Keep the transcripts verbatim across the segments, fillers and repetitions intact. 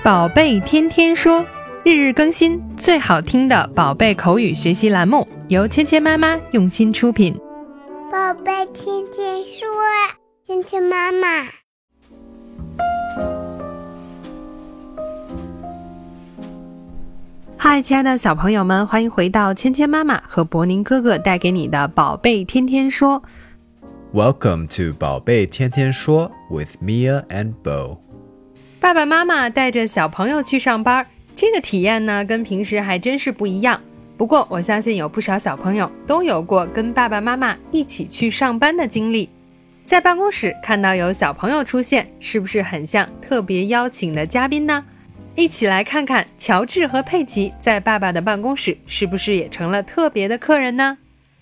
宝贝天天说，日日更新，最好听的宝贝口语学习栏目，由芊芊妈妈用心出品。 宝贝天天说，芊芊妈妈。 嗨，亲爱的小朋友们，欢迎回到芊芊妈妈和博宁哥哥带给你的宝贝天天说。 Welcome to 宝贝天天说 with Mia and Bo。 爸爸妈妈带着小朋友去上班，这个体验呢跟平时还真是不一样。不过我相信有不少小朋友都有过跟爸爸妈妈一起去上班的经历。在办公室看到有小朋友出现，是不是很像特别邀请的嘉宾呢？一起来看看乔治和佩奇在爸爸的办公室是不是也成了特别的客人呢？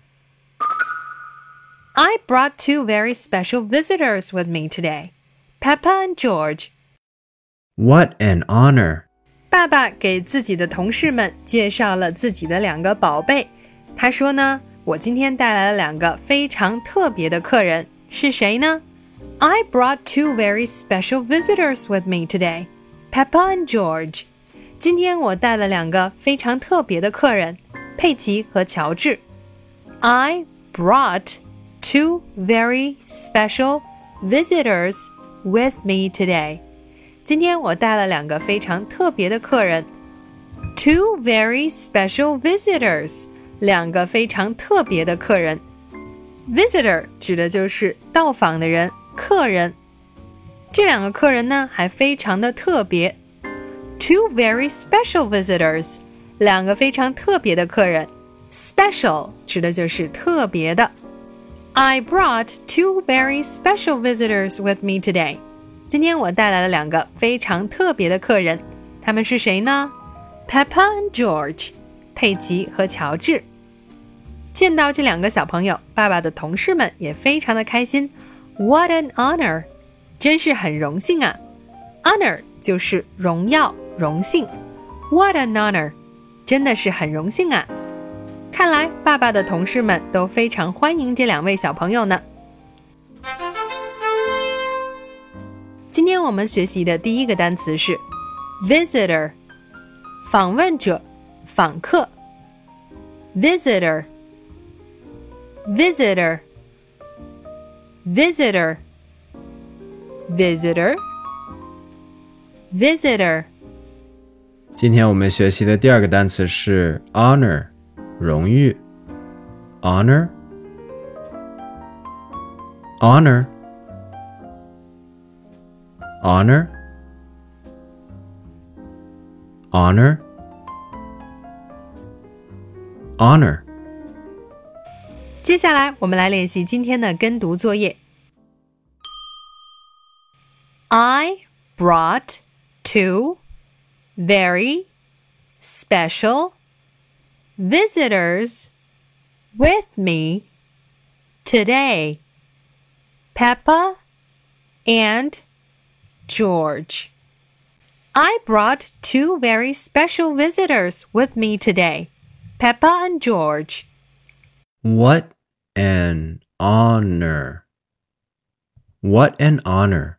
I brought two very special visitors with me today, Peppa and George. What an honor! 爸爸给自己的同事们介绍了自己的两个宝贝。他说呢，我今天带来了两个非常特别的客人，是谁呢？ I brought two very special visitors with me today, Peppa and George. 今天我带了两个非常特别的客人，佩奇和乔治。 I brought two very special visitors with me today. 今天我带了两个非常特别的客人。 Two very special visitors. 两个非常特别的客人。 Visitor 指的就是到访的人，客人。这两个客人呢还非常的特别。 Two very special visitors. 两个非常特别的客人。 Special 指的就是特别的。 I brought two very special visitors with me today. 今天我带来了两个非常特别的客人，他们是谁呢？ Peppa and George. 佩奇和乔治。见到这两个小朋友，爸爸的同事们也非常的开心。 What an honor. 真是很荣幸啊。 Honor 就是荣耀、荣幸。 What an honor. 真的是很荣幸啊。看来爸爸的同事们都非常欢迎这两位小朋友呢。今天我们学习的第一个单词是 visitor， 访问者、访客。 visitor visitor visitor visitor visitor。 今天我们学习的第二个单词是 honor， 荣誉。 honor honor honor honor honor。 接下来我们来练习今天的跟读作业。 I brought two very special visitors with me today, Peppa and George. I brought two very special visitors with me today, Peppa and George. What an honor! What an honor!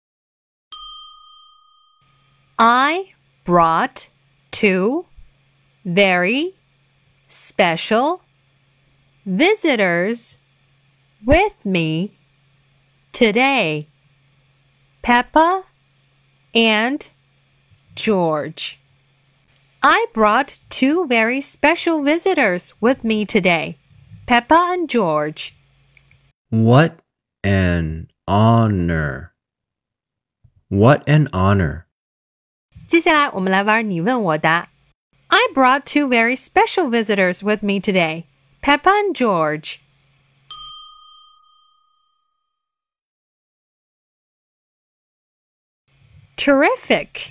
I brought two very special visitors with me today, Peppa and George. I brought two very special visitors with me today, Peppa and George. What an honor! What an honor! 接下来我们来玩你问我答。 I brought two very special visitors with me today, Peppa and George. Terrific!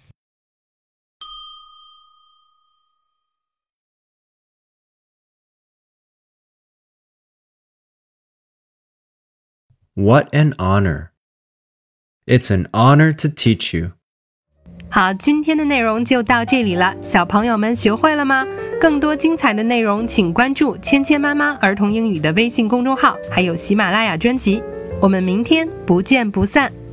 What an honor! It's an honor to teach you. 好，今天的内容就到这里了，小朋友们学会了吗？更多精彩的内容请关注芊芊妈妈儿童英语的微信公众号，还有喜马拉雅专辑。我们明天不见不散。